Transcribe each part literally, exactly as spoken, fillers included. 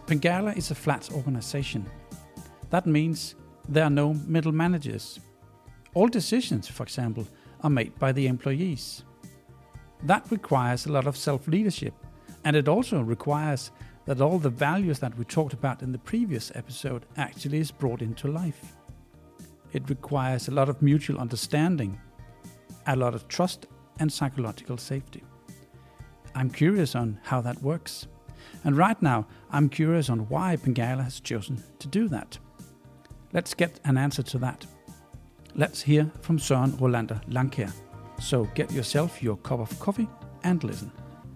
Pingala is a flat organization. That means there are no middle managers. All decisions, for example, are made by the employees. That requires a lot of self-leadership, and it also requires that all the values that we talked about in the previous episode actually is brought into life. It requires a lot of mutual understanding, a lot of trust and psychological safety. I'm curious on how that works. And right now, I'm curious on why Pingala has chosen to do that. Let's get an answer to that. Let's hear from Søren Rolander Langkjær. So get yourself your cup of coffee and listen.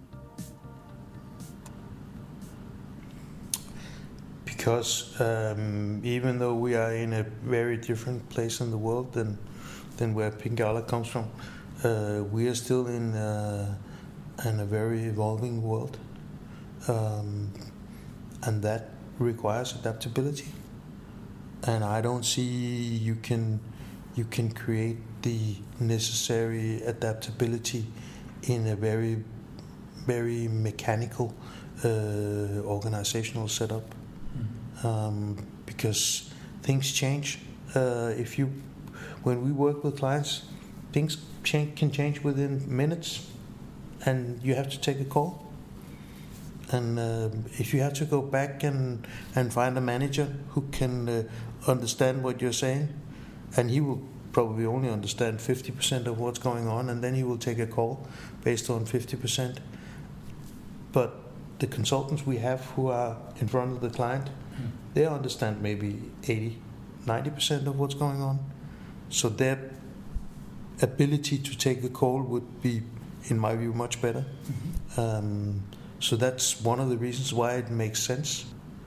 Because um, even though we are in a very different place in the world than than where Pingala comes from, uh, we are still in, uh, in a very evolving world. Um, and that requires adaptability. And I don't see you can you can create the necessary adaptability in a very very mechanical uh, organizational setup, mm-hmm. um, because things change. Uh, if you when we work with clients, things change, can change within minutes, and you have to take a call. And uh, if you have to go back and, and find a manager who can uh, understand what you're saying, and he will probably only understand fifty percent of what's going on, and then he will take a call based on fifty percent. But the consultants we have who are in front of the client, mm. they understand maybe eighty, ninety percent of what's going on. So their ability to take a call would be, in my view, much better. Mm-hmm. Um, So that's one of the reasons why it makes sense.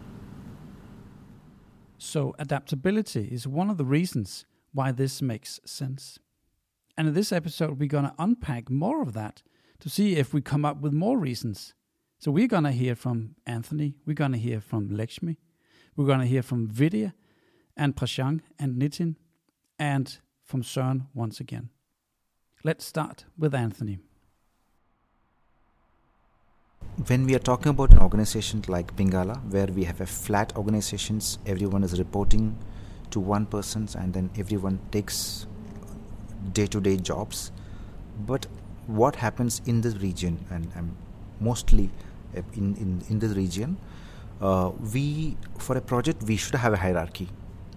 So adaptability is one of the reasons why this makes sense. And in this episode, we're going to unpack more of that to see if we come up with more reasons. So we're going to hear from Anthony, we're going to hear from Lakshmi, we're going to hear from Vidya and Prashant and Nitin, and from Søren once again. Let's start with Anthony. When we are talking about an organization like Pingala, where we have a flat organizations, everyone is reporting to one person and then everyone takes day-to-day jobs. But what happens in this region, and um, mostly in, in, in this region, uh, we for a project, we should have a hierarchy.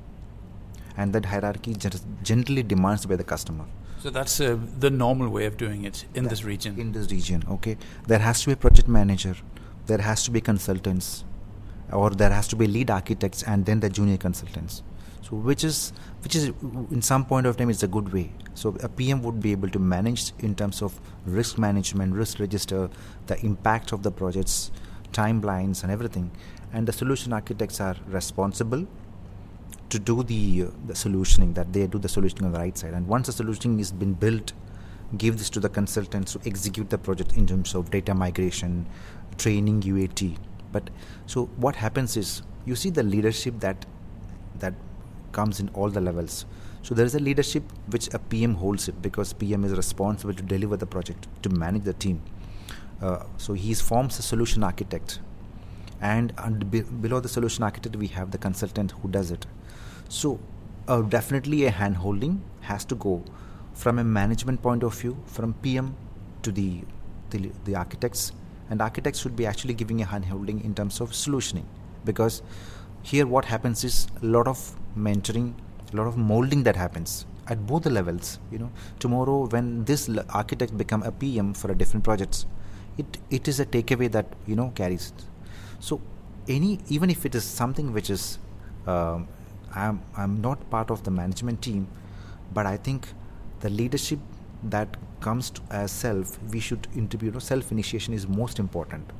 And that hierarchy generally demands by the customer. So that's uh, the normal way of doing it in that, this region. In this region, okay. There has to be a project manager, there has to be consultants, or there has to be lead architects, and then the junior consultants. So which is, which is in some point of time, it's a good way. So a P M would be able to manage in terms of risk management, risk register, the impact of the projects, timelines, and everything. And the solution architects are responsible to do the uh, the solutioning, that they do the solutioning on the right side. And once the solutioning has been built, give this to the consultants to execute the project in terms of data migration, training, U A T. But so what happens is, you see the leadership that that comes in all the levels. So there is a leadership which a P M holds it, because P M is responsible to deliver the project, to manage the team. Uh, so he forms a solution architect, and under, be, below the solution architect we have the consultant who does it. So uh, definitely a hand holding has to go from a management point of view, from P M to the, the the architects, and architects should be actually giving a hand holding in terms of solutioning, because here what happens is a lot of mentoring, a lot of molding that happens at both the levels. You know, tomorrow when this l- architect become a P M for a different projects, it it is a takeaway that, you know, carries. So any even if it is something which is um, I'm I'm not part of the management team, but I think the leadership that comes to as self, we should interview. You know, self initiation is most important.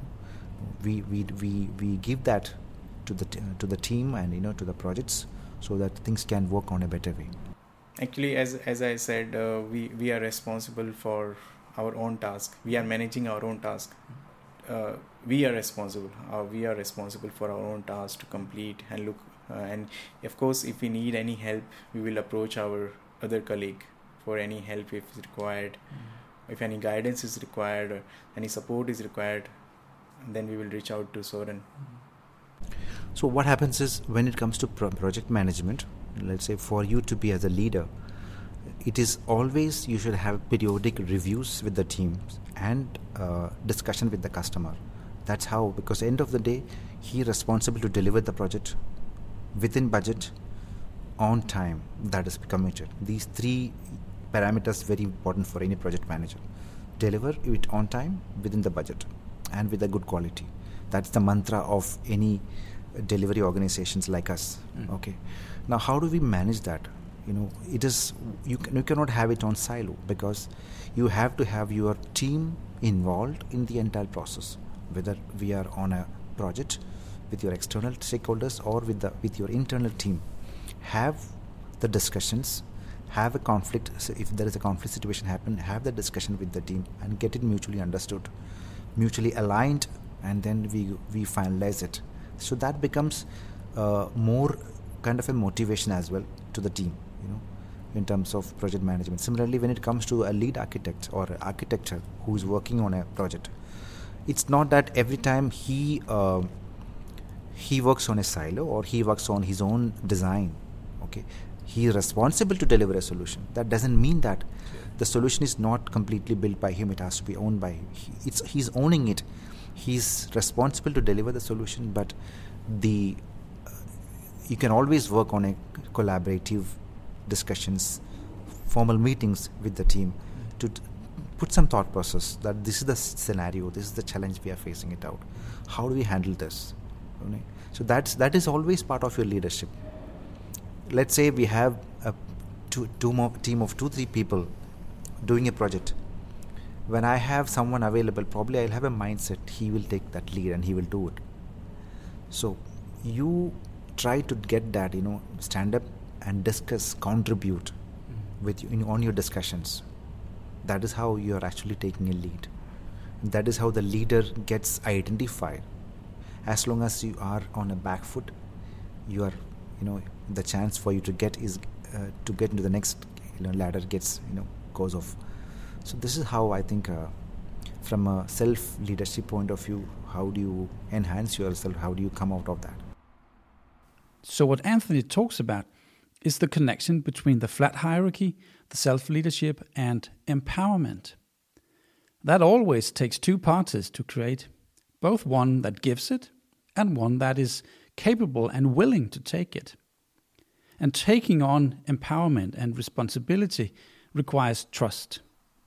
We we we we give that to the t- to the team and, you know, to the projects, so that things can work on a better way. Actually, as as I said, uh, we we are responsible for our own task. We are managing our own task. Uh, we are responsible. Uh, we are responsible for our own task to complete and look. Uh, and of course, if we need any help, we will approach our other colleague for any help if it's required. Mm. If any guidance is required or any support is required, then we will reach out to Søren. Mm. So what happens is, when it comes to pro- project management, let's say for you to be as a leader, it is always you should have periodic reviews with the teams and uh, discussion with the customer. That's how, because at the end of the day, he is responsible to deliver the project within budget, on time, that is committed. These three parameters very important for any project manager. Deliver it on time, within the budget, and with a good quality. That's the mantra of any delivery organizations like us. Mm. Okay. Now, how do we manage that? You know, it is you, can, you cannot have it on silo, because you have to have your team involved in the entire process, whether we are on a project with your external stakeholders or with the with your internal team. Have the discussions, have a conflict. So if there is a conflict situation happen, have the discussion with the team and get it mutually understood, mutually aligned, and then we we finalize it. So that becomes uh, more kind of a motivation as well to the team, you know, in terms of project management. Similarly, when it comes to a lead architect or architecture who is working on a project, it's not that every time he uh, he works on a silo or he works on his own design. Okay, he is responsible to deliver a solution. That doesn't mean that the solution is not completely built by him. It has to be owned by him. He, it's he's owning it. He's responsible to deliver the solution, but the uh, you can always work on a collaborative discussions, formal meetings with the team to t- put some thought process that this is the scenario, this is the challenge we are facing it out. How do we handle this? Okay. So that's that is always part of your leadership. Let's say we have a two, two more team of two, three people doing a project. When I have someone available, probably I'll have a mindset, he will take that lead and he will do it. So you try to get that, you know, stand up and discuss, contribute mm-hmm. with you in, on your discussions. That is how you are actually taking a lead. And that is how the leader gets identified. As long as you are on a back foot, you are, you know, the chance for you to get is uh, to get into the next, you know, ladder gets, you know, goes off. So this is how I think, uh, from a self-leadership point of view, how do you enhance yourself? How do you come out of that? So what Anthony talks about is the connection between the flat hierarchy, the self-leadership, and empowerment. That always takes two parties to create, both one that gives it and one that is capable and willing to take it. And taking on empowerment and responsibility requires trust.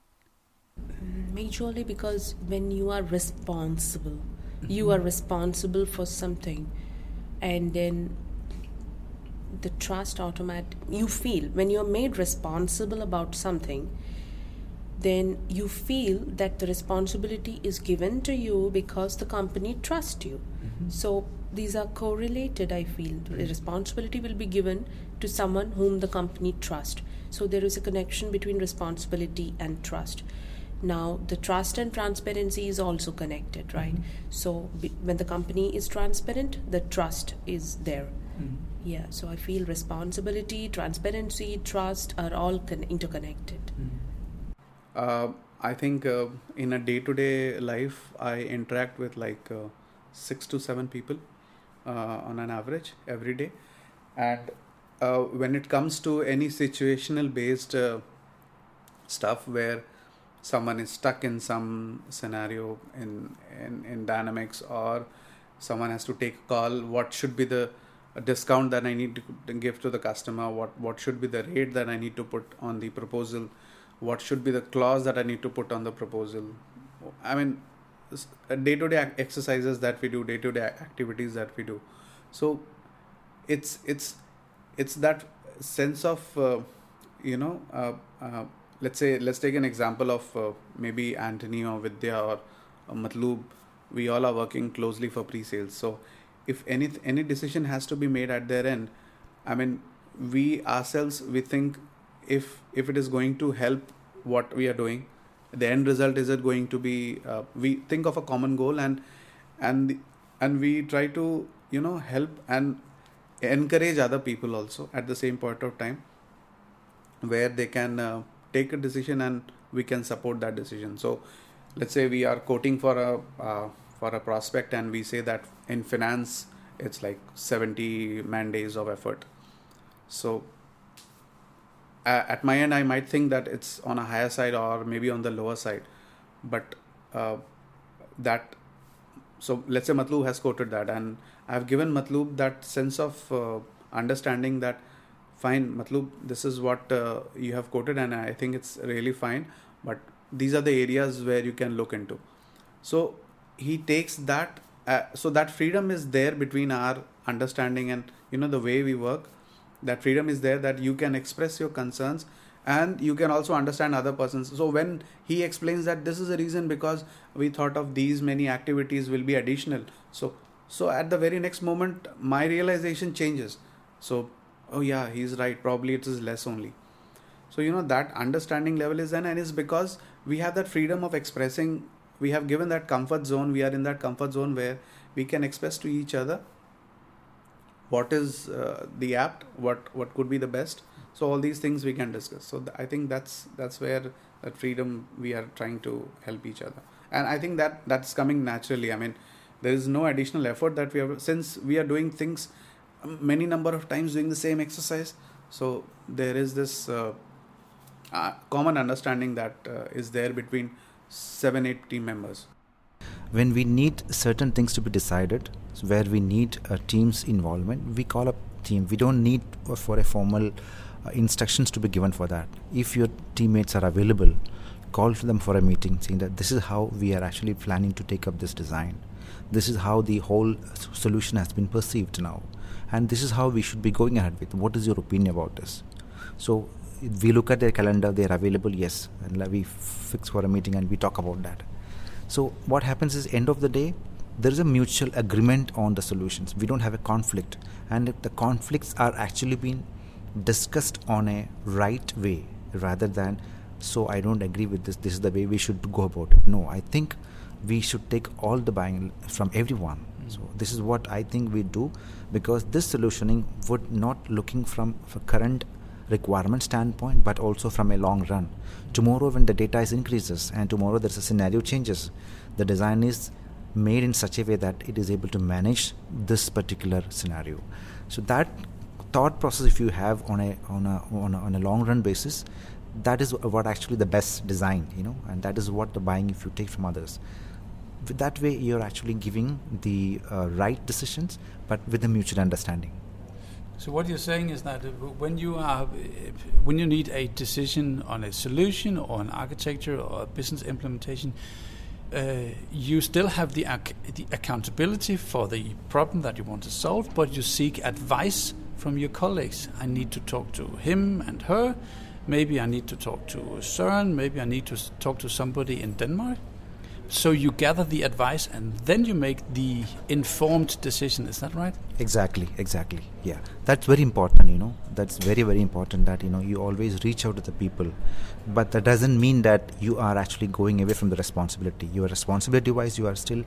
Majorly because when you are responsible, mm-hmm. you are responsible for something, and then the trust automatic you feel when you're made responsible about something, then you feel that the responsibility is given to you because the company trusts you. Mm-hmm. So these are correlated, I feel. The responsibility will be given to someone whom the company trusts. So there is a connection between responsibility and trust. Now, the trust and transparency is also connected, right? Mm-hmm. So be, when the company is transparent, the trust is there. Mm-hmm. Yeah, so I feel responsibility, transparency, trust are all con- interconnected. Mm-hmm. Uh, I think uh, in a day-to-day life, I interact with like uh, six to seven people uh, on an average every day. And uh, when it comes to any situational based uh, stuff where someone is stuck in some scenario in, in, in Dynamics, or someone has to take a call, what should be the discount that I need to give to the customer, what, what should be the rate that I need to put on the proposal, what should be the clause that I need to put on the proposal. I mean, day-to-day exercises that we do, day-to-day activities that we do. So it's it's it's that sense of uh, you know uh, uh, let's say let's take an example of uh, maybe Anthony or Vidya or uh, Matloob. We all are working closely for pre-sales. So if any any decision has to be made at their end, I mean, we ourselves we think if if it is going to help what we are doing, the end result, is it going to be uh, we think of a common goal, and and and we try to, you know, help and encourage other people also at the same point of time, where they can uh, take a decision and we can support that decision. So let's say we are quoting for a uh, for a prospect, and we say that in finance it's like seventy man days of effort. So uh, at my end, I might think that it's on a higher side or maybe on the lower side, but uh, that, so let's say Matloob has quoted that, and I've given Matloob that sense of uh, understanding that fine, Matloob, this is what uh, you have quoted and I think it's really fine, but these are the areas where you can look into. So he takes that, uh, so that freedom is there between our understanding and, you know, the way we work. That freedom is there that you can express your concerns and you can also understand other persons. So when he explains that this is a reason because we thought of these many activities will be additional. So, so at the very next moment, my realization changes. So, oh yeah, he's right. Probably it is less only. So, you know, that understanding level is then, and it's because we have that freedom of expressing. We have given that comfort zone. We are in that comfort zone where we can express to each other what is uh, the apt, what, what could be the best. So all these things we can discuss. So th- I think that's that's where that freedom we are trying to help each other. And I think that that's coming naturally. I mean, there is no additional effort that we have, since we are doing things many number of times doing the same exercise. So there is this uh, uh, common understanding that uh, is there between seven, eight team members. When we need certain things to be decided, so where we need a team's involvement, we call up team. We don't need for a formal uh, instructions to be given for that. If your teammates are available, call them for a meeting saying that this is how we are actually planning to take up this design. This is how the whole solution has been perceived now. And this is how we should be going ahead with. What is your opinion about this? So we look at their calendar, they are available, yes. And we fix for a meeting and we talk about that. So what happens is, end of the day, there is a mutual agreement on the solutions. We don't have a conflict. And the conflicts are actually being discussed on a right way rather than, so I don't agree with this, this is the way we should go about it. No, I think we should take all the buying from everyone. Mm-hmm. So this is what I think we do, because this solutioning would not looking from a current requirement standpoint, but also from a long run. Tomorrow when the data is increases and tomorrow there's a scenario changes, the design is made in such a way that it is able to manage this particular scenario. So that thought process, if you have on a on a on a, on a long run basis, that is what actually the best design, you know, and that is what the buying if you take from others. With that way you're actually giving the uh, right decisions, but with a mutual understanding. So what you're saying is that when you are, when you need a decision on a solution or an architecture or a business implementation, uh, you still have the, ac- the accountability for the problem that you want to solve, but you seek advice from your colleagues. I need to talk to him and her. Maybe I need to talk to Søren. Maybe I need to talk to somebody in Denmark. So you gather the advice and then you make the informed decision. Is that right? Exactly, exactly. Yeah, that's very important, you know. That's very, very important that, you know, you always reach out to the people. But that doesn't mean that you are actually going away from the responsibility. Your responsibility-wise, you are still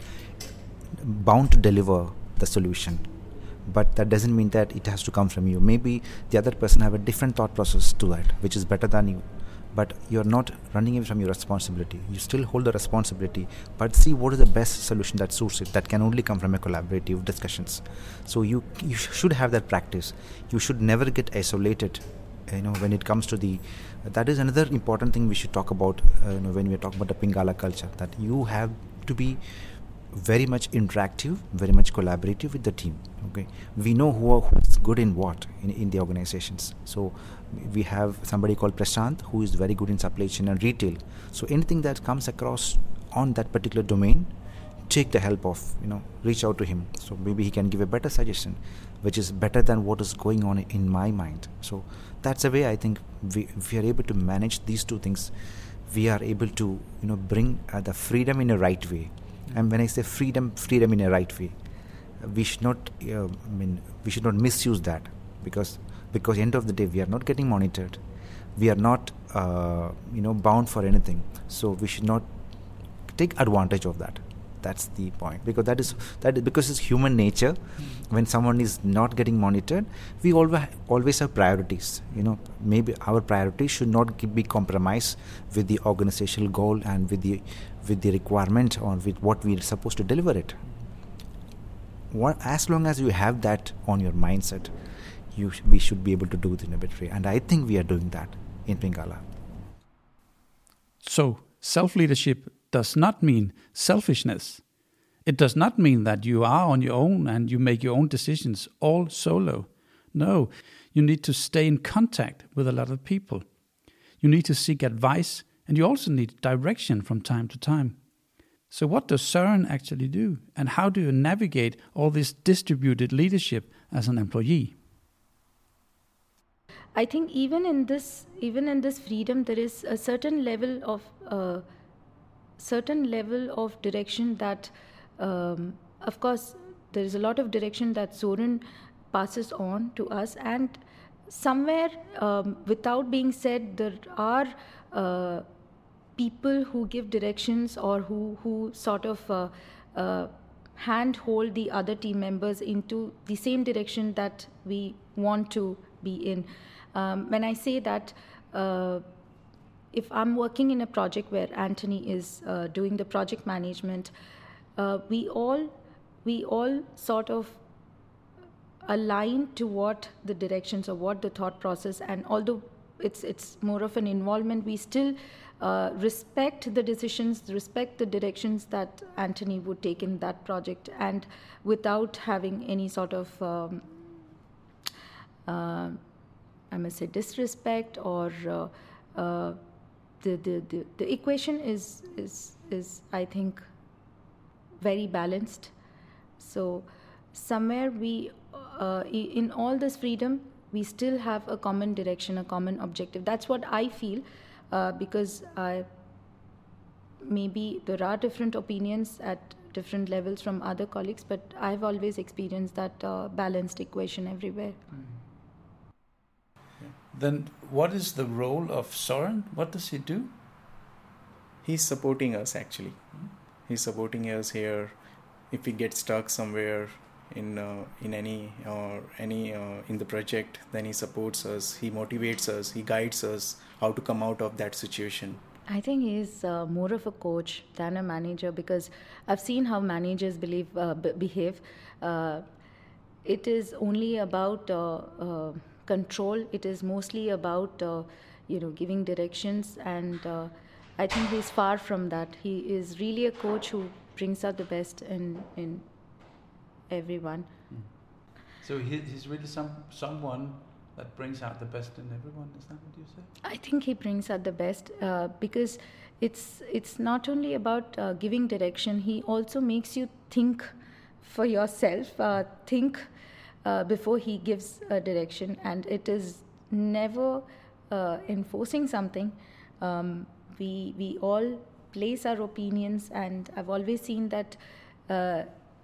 bound to deliver the solution. But that doesn't mean that it has to come from you. Maybe the other person have a different thought process to that, which is better than you. But you're not running away from your responsibility. You still hold the responsibility, but see what is the best solution that suits it. That can only come from a collaborative discussions. So you you should have that practice. You should never get isolated. You know, when it comes to the, uh, that is another important thing we should talk about. Uh, you know, when we are talking about the Pingala culture, that you have to be very much interactive, very much collaborative with the team. Okay, we know who are, who's good in what in, in the organizations. So we have somebody called Prashant who is very good in supply chain and retail. So anything that comes across on that particular domain, take the help of, you know, reach out to him. So maybe he can give a better suggestion, which is better than what is going on in my mind. So that's a way I think we, if we are able to manage these two things, we are able to, you know, bring uh, the freedom in a right way. And when I say freedom, freedom in a right way, we should not, uh, I mean, we should not misuse that, because because end of the day we are not getting monitored, we are not, uh, you know, bound for anything. So we should not take advantage of that. That's the point, because that is that is because it's human nature. Mm-hmm. When someone is not getting monitored, we always always have priorities. You know, maybe our priorities should not be compromised with the organizational goal and with the with the requirement or with what we are supposed to deliver it. what, as long as you have that on your mindset, you sh- we should be able to do it in a better way. And I think we are doing that in Pingala. So, self-leadership does not mean selfishness. It does not mean that you are on your own and you make your own decisions all solo. No, you need to stay in contact with a lot of people. You need to seek advice, and you also need direction from time to time. So what does Søren actually do? And how do you navigate all this distributed leadership as an employee? I think even in this, even in this freedom, there is a certain level of uh, certain level of direction that, um, of course, there is a lot of direction that Søren passes on to us, and somewhere, um, without being said, there are uh, people who give directions or who who sort of uh, uh, handhold the other team members into the same direction that we want to be in. Um, when I say that, uh, if I'm working in a project where Anthony is uh, doing the project management, uh, we all we all sort of align to what the directions or what the thought process, and although it's it's more of an involvement, we still uh, respect the decisions, respect the directions that Anthony would take in that project, and without having any sort of um, uh, I must say disrespect or uh, uh, the, the the the equation is is is I think very balanced. So somewhere we uh, in all this freedom we still have a common direction, a common objective. That's what I feel, uh, because I maybe there are different opinions at different levels from other colleagues, but I've always experienced that uh, balanced equation everywhere. Mm. Then what is the role of Søren? What does he do? He's supporting us actually. Mm. He's supporting us here. If we get stuck somewhere in uh, in any or uh, any uh, in the project, then he supports us. He motivates us. He guides us how to come out of that situation. I think he's uh, more of a coach than a manager, because I've seen how managers believe uh, b- behave. Uh, it is only about uh, uh, control. It is mostly about uh, you know giving directions, and uh, I think he's far from that. He is really a coach who brings out the best in in everyone. Mm. So he, he's really some someone that brings out the best in everyone. Is that what you say? I think he brings out the best uh, because it's it's not only about uh, giving direction. He also makes you think for yourself. Uh, think uh, before he gives a direction, and it is never uh, enforcing something. Um, we we all place our opinions, and I've always seen that uh,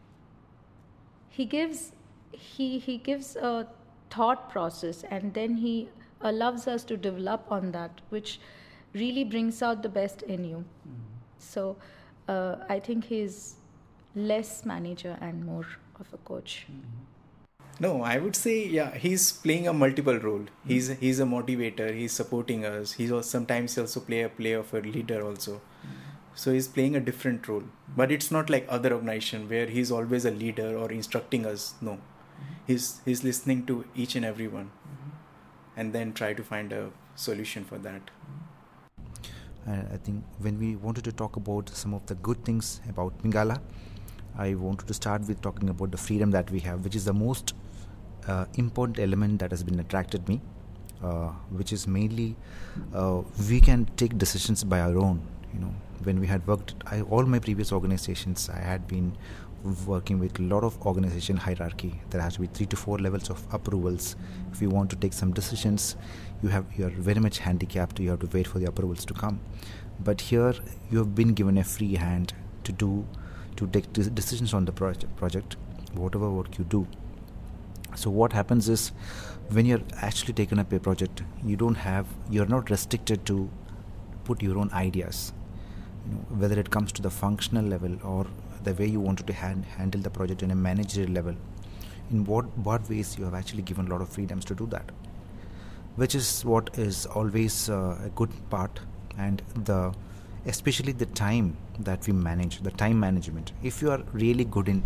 he gives he he gives a thought process, and then he allows us to develop on that, which really brings out the best in you. Mm-hmm. So uh, I think he's less manager and more of a coach. Mm-hmm. No, I would say, yeah, he's playing a multiple role. Mm-hmm. He's he's a motivator. He's supporting us. He's also, sometimes also play a play of a leader also. Mm-hmm. So he's playing a different role. Mm-hmm. But it's not like other organization where he's always a leader or instructing us. No, mm-hmm. he's he's listening to each and every one, mm-hmm. and then try to find a solution for that. Mm-hmm. And I think when we wanted to talk about some of the good things about Pingala, I wanted to start with talking about the freedom that we have, which is the most uh, important element that has been attracted me, uh, which is mainly uh, we can take decisions by our own. You know, when we had worked, I, all my previous organizations, I had been working with a lot of organization hierarchy. There has to be three to four levels of approvals. If you want to take some decisions, you have you are very much handicapped. You have to wait for the approvals to come. But here, you have been given a free hand to do. to take decisions on the project, project, whatever work you do. So what happens is, when you're actually taking up a project, you don't have, you're not restricted to put your own ideas. You know, whether it comes to the functional level or the way you wanted to hand, handle the project in a managerial level, in what, what ways you have actually given a lot of freedoms to do that, which is what is always uh, a good part, and the especially the time that we manage, the time management. If you are really good in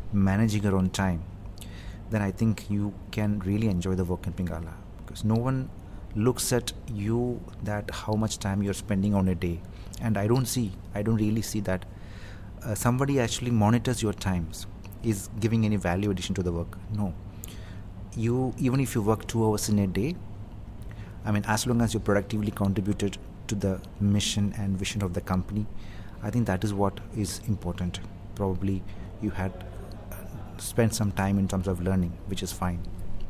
managing your own time, then I think you can really enjoy the work in Pingala, because no one looks at you that how much time you're spending on a day. And I don't see, I don't really see that uh, somebody actually monitors your times, is giving any value addition to the work. No. You, even if you work two hours in a day, I mean, as long as you productively contributed to the mission and vision of the company, I think that is what is important. Probably you had spent some time in terms of learning, which is fine.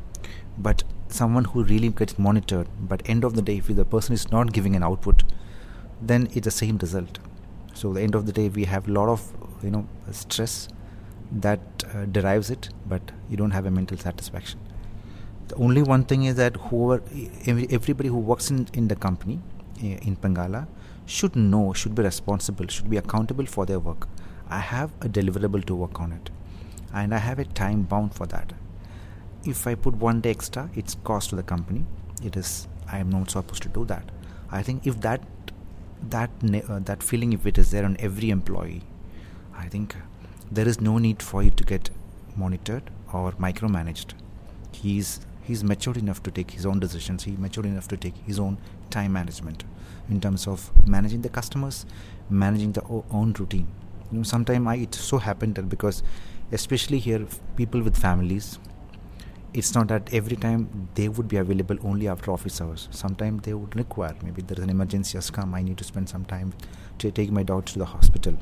But someone who really gets monitored, but end of the day, if the person is not giving an output, then it's the same result. So at the end of the day, we have a lot of, you know, stress that uh, derives it, but you don't have a mental satisfaction. The only one thing is that whoever, everybody who works in, in the company, in Pingala, should know, should be responsible, should be accountable for their work. I have a deliverable to work on it, and I have a time bound for that. If I put one day extra, it's cost to the company. It is, I am not supposed to do that. I think if that that uh, that feeling, if it is there on every employee, I think there is no need for you to get monitored or micromanaged. He's he's matured enough to take his own decisions. He's matured enough to take his own time management in terms of managing the customers, managing the o- own routine. You know, sometimes I it so happened that because, especially here, people with families, it's not that every time they would be available only after office hours. Sometimes they would require, maybe there is an emergency has come, I need to spend some time to take my daughter to the hospital.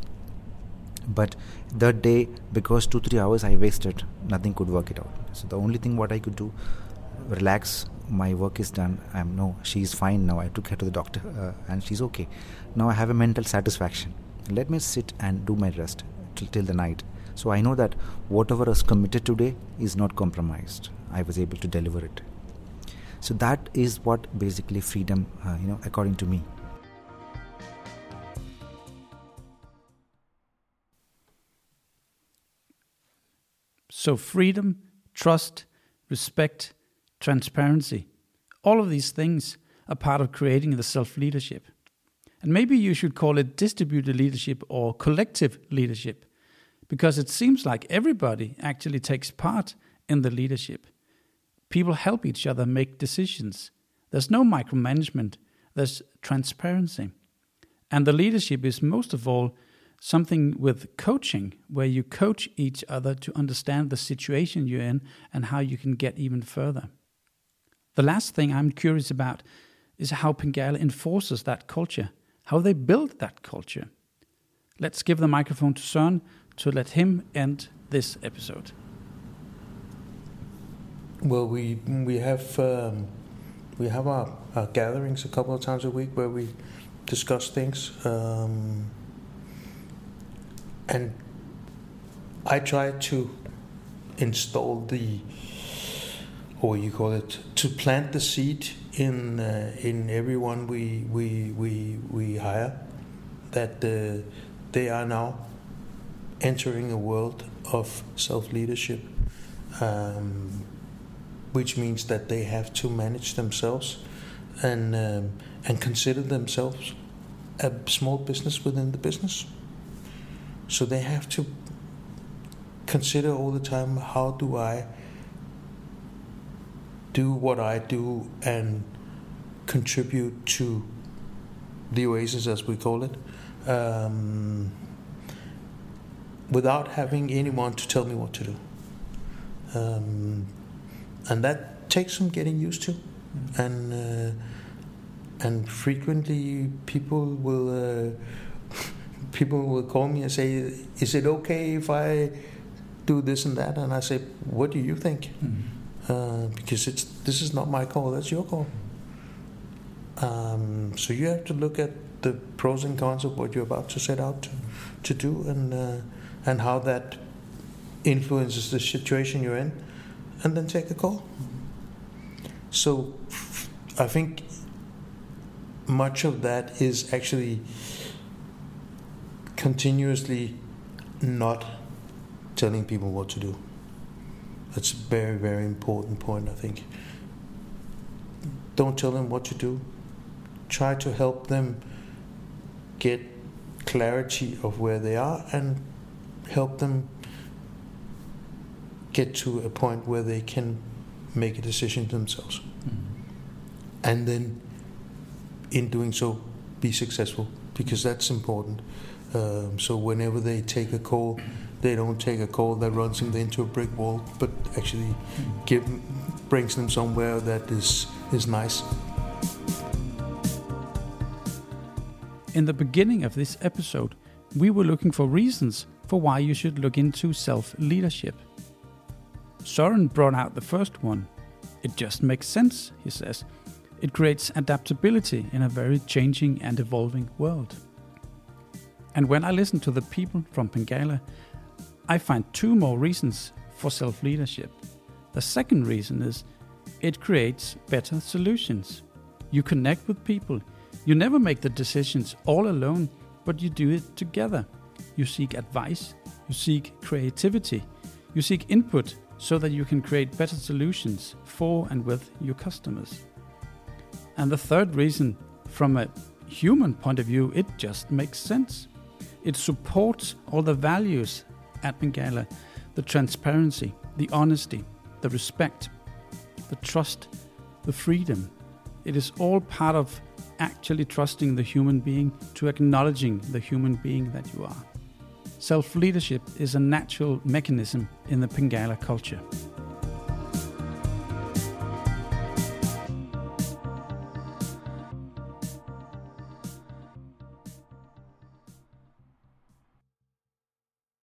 But that day, because two, three hours I wasted, nothing could work it out. So the only thing what I could do, relax, my work is done, I'm no, she's fine now, I took her to the doctor uh, and she's okay. Now I have a mental satisfaction. Let me sit and do my rest till, till the night. So I know that whatever was committed today is not compromised. I was able to deliver it. So that is what basically freedom, uh, you know, according to me. So freedom, trust, respect, transparency, all of these things are part of creating the self-leadership. And maybe you should call it distributed leadership or collective leadership, because it seems like everybody actually takes part in the leadership. People help each other make decisions. There's no micromanagement, there's transparency. And the leadership is most of all something with coaching, where you coach each other to understand the situation you're in and how you can get even further. The last thing I'm curious about is how Pingala enforces that culture, how they build that culture. Let's give the microphone to Søren to let him end this episode. Well, we we have um, we have our, our gatherings a couple of times a week where we discuss things, um, and I try to install the, or you call it, to plant the seed in uh, in everyone we we we we hire, that uh, they are now entering a world of self-leadership, um, which means that they have to manage themselves and um, and consider themselves a small business within the business. So they have to consider all the time, how do I do what I do and contribute to the Oasis, as we call it, um, without having anyone to tell me what to do. Um, and that takes some getting used to. Mm-hmm. And uh, and frequently people will uh, people will call me and say, is it okay if I do this and that? And I say, what do you think? Mm-hmm. Uh, because it's this is not my call, that's your call. Um, so you have to look at the pros and cons of what you're about to set out to, to do, and uh, and how that influences the situation you're in, and then take a call. So I think much of that is actually continuously not telling people what to do. That's a very, very important point, I think. Don't tell them what to do. Try to help them get clarity of where they are and help them get to a point where they can make a decision themselves. Mm-hmm. And then, in doing so, be successful, because that's important. Um, so whenever they take a call, they don't take a call that runs them into a brick wall, but actually give, brings them somewhere that is, is nice. In the beginning of this episode, we were looking for reasons for why you should look into self-leadership. Søren brought out the first one. It just makes sense, he says. It creates adaptability in a very changing and evolving world. And when I listen to the people from Pengala, I find two more reasons for self-leadership. The second reason is it creates better solutions. You connect with people. You never make the decisions all alone, but you do it together. You seek advice, you seek creativity, you seek input so that you can create better solutions for and with your customers. And the third reason, from a human point of view, it just makes sense. It supports all the values at Pengala: the transparency, the honesty, the respect, the trust, the freedom. It is all part of actually trusting the human being, to acknowledging the human being that you are. Self-leadership is a natural mechanism in the Pengala culture.